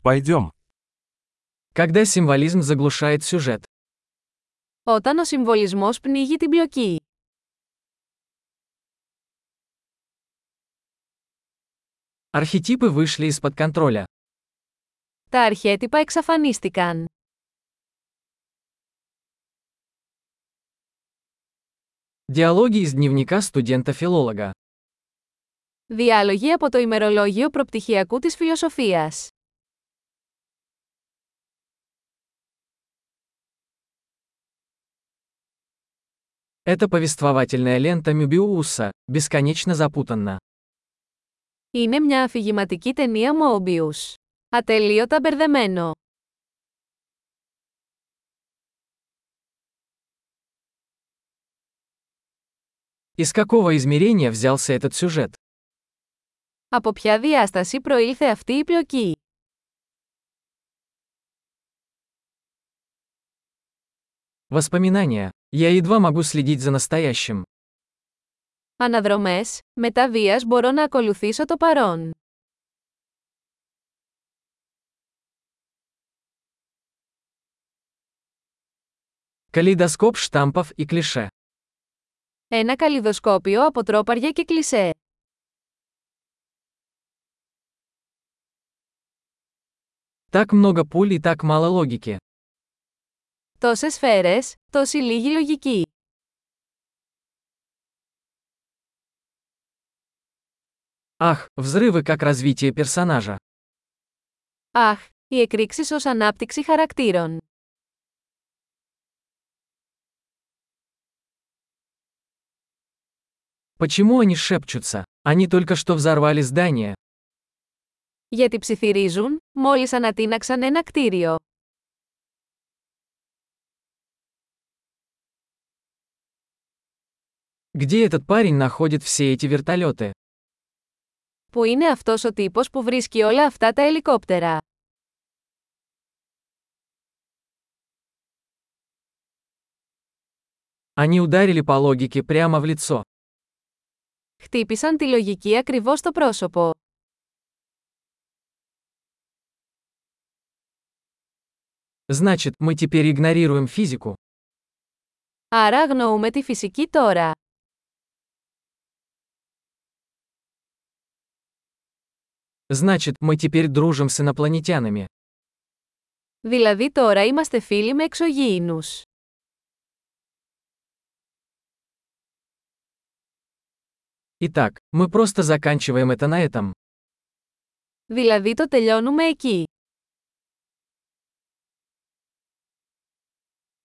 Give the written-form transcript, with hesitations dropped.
Пойдем. Когда символизм заглушает сюжет. Όταν ο συμβολισμός πνίγει την πλοκή. Архетипы вышли из-под контроля. Τα αρχέτυπα εξαφανίστηκαν. Диалоги из дневника студента-филолога. Διάλογοι από το ημερολόγιο προπτυχιακού της φιλοσοφίας. Это повествовательная лента Мёбиуса, бесконечно запутанна. Είναι μια αφηγηματική ταινία Mobius. Ατελείωτα μπερδεμένο. Из какого измерения взялся этот сюжет? Από ποια διάσταση προήλθε αυτή η πλοκή? Воспоминания. Я едва могу следить за настоящим. Αναδρομές, μετά βίας μπορώ να ακολουθήσω το παρόν. Калейдоскоп штампов и клише. Ένα καλλιδοσκόπιο από τρόπαρια και κλισέ. Так много пуль и так мало логики. Τόσες σφαίρες, τόση λίγη λογική. Ах, взрывы как развитие персонажа. Αχ, οι εκρήξεις ως ανάπτυξη χαρακτήρων. Почему они шепчутся? Они только что взорвали здание. Γιατί ψιθυρίζουν, μόλις ανατείναξαν ένα κτίριο. Где этот парень находит все эти вертолеты? Πού είναι αυτός ο τύπος που βρίσκει όλα αυτά τα ελικόπτερα? Они ударили по логике прямо в лицо. Χτύπησαν τη λογική ακριβώς στο πρόσωπο. Значит, мы теперь игнорируем физику. Άρα αγνοούμε τη φυσική τώρα. Значит, мы теперь дружим с инопланетянами. Δηλαδή τώρα είμαστε φίλοι με εξωγήινους. Итак, мы просто заканчиваем это на этом. Δηλαδή το τελειώνουμε εκεί.